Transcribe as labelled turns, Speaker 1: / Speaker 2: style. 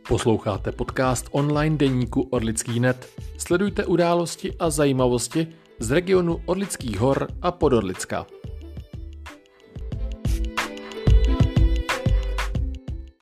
Speaker 1: Posloucháte podcast online deníku Orlický.net. Sledujte události a zajímavosti z regionu Orlických hor a Podorlicka.